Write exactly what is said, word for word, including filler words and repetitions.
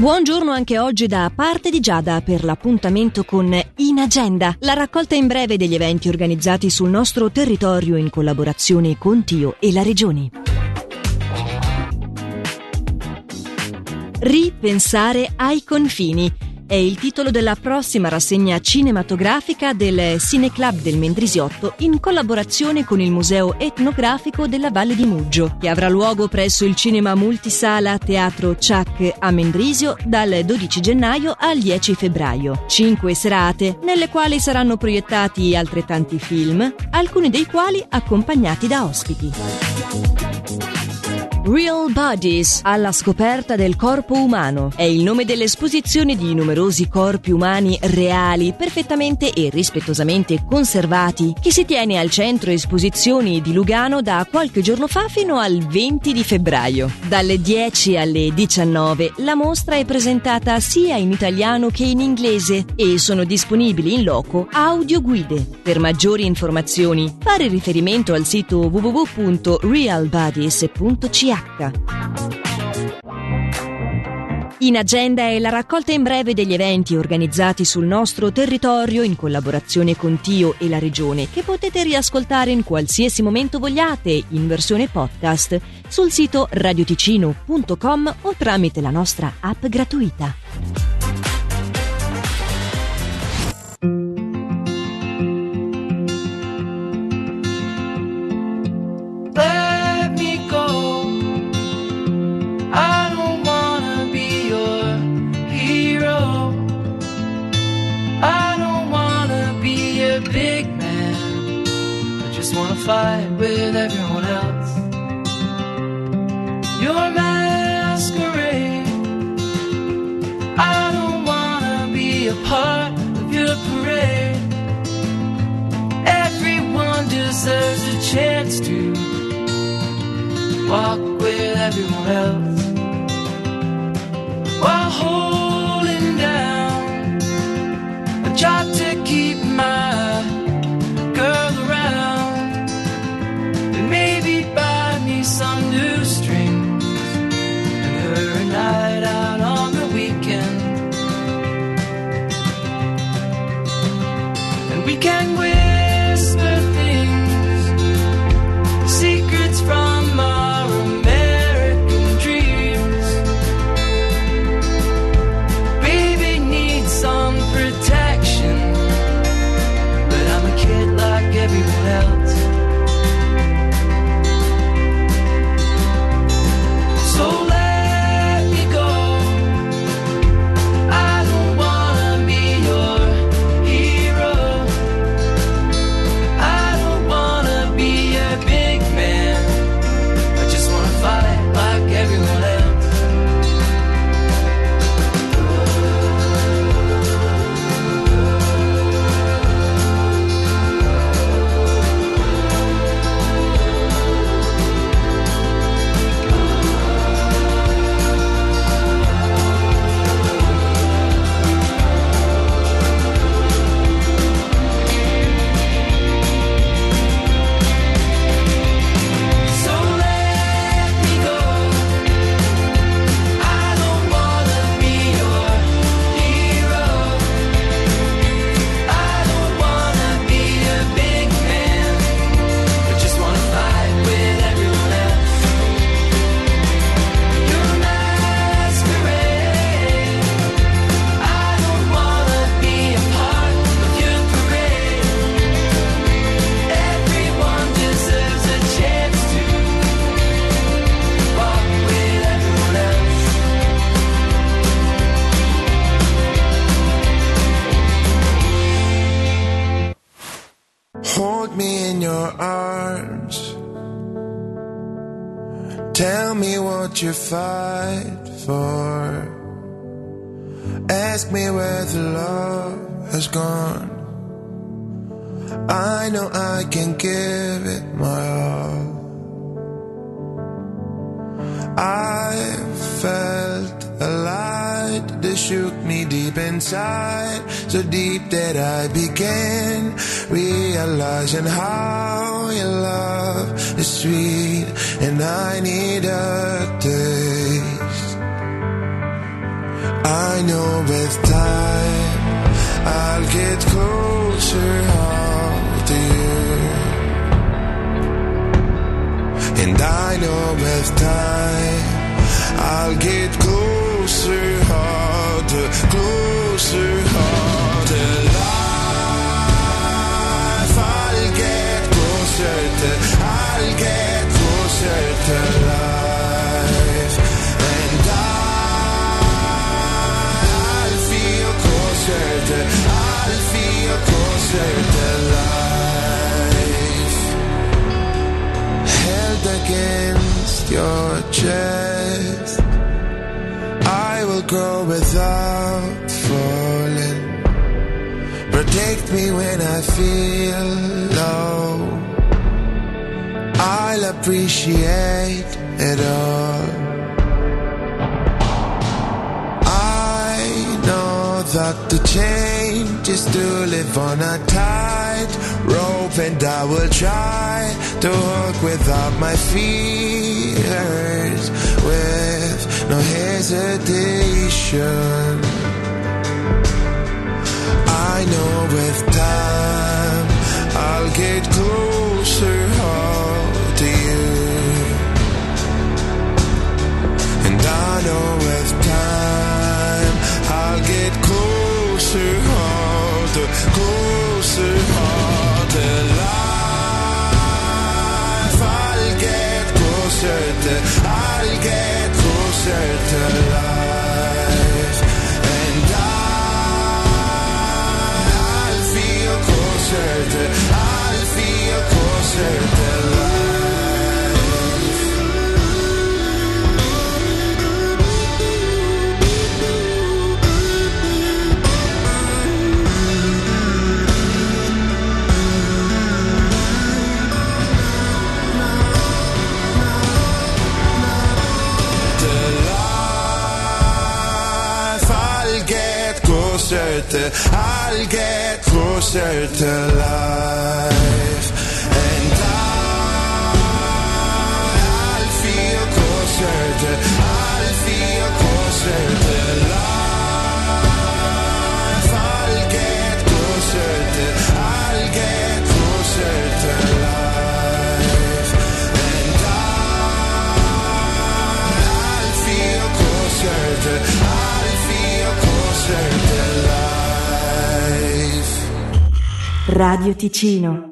Buongiorno anche oggi da parte di Giada per l'appuntamento con In Agenda, la raccolta in breve degli eventi organizzati sul nostro territorio in collaborazione con Tio e la Regione. Ripensare ai confini è il titolo della prossima rassegna cinematografica del Cineclub del Mendrisiotto in collaborazione con il Museo Etnografico della Valle di Muggio, che avrà luogo presso il cinema multisala Teatro Ciak a Mendrisio dal dodici gennaio al dieci febbraio. Cinque serate nelle quali saranno proiettati altrettanti film, alcuni dei quali accompagnati da ospiti. Real Bodies, alla scoperta del corpo umano, è il nome dell'esposizione di numerosi corpi umani reali, perfettamente e rispettosamente conservati, che si tiene al centro esposizioni di Lugano da qualche giorno fa fino al venti di febbraio. Dalle dieci alle diciannove la mostra è presentata sia in italiano che in inglese e sono disponibili in loco audioguide. Per maggiori informazioni fare riferimento al sito w w w punto real bodies punto c h. In Agenda è la raccolta in breve degli eventi organizzati sul nostro territorio in collaborazione con Tio e la Regione, che potete riascoltare in qualsiasi momento vogliate in versione podcast sul sito radioticino punto com o tramite la nostra app gratuita. Big man, I just wanna fight with everyone else. Your masquerade, I don't wanna be a part of your parade. Everyone deserves a chance to walk with everyone else while holding down a job to keep my some new strings and her a night out on the weekend, and we can whisper things, secrets from our American dreams. Baby needs some protection, but I'm a kid like everyone else. Hold me in your arms. Tell me what you fight for. Ask me where the love has gone. I know I can give it my all. I felt a light that shook me deep inside, so deep that I began realizing how your love is sweet, and I need a taste. know with time I'll get closer all to you. And I know with time I'll get closer harder, closer harder. Life, I'll get closer to, I'll get closer to life. And I, I'll feel closer to, I'll feel closer to life. Held against your chest, I will grow without falling. Protect me when I feel low, I'll appreciate it all. I know that the change is to live on a tight rope, and I will try to walk without my fears, with no hesitation. I know with time I'll get closer all to you. And I know with time I'll get closer all to, closer all to life. I'll get closer to, I'll get closer to life. And I I'll feel closer to to, I'll get closer to life. And I, I'll feel closer to, I'll feel closer to life. I'll get closer to, I'll get closer to life. And I, I'll feel closer to, I'll feel closer to life. Radio Ticino.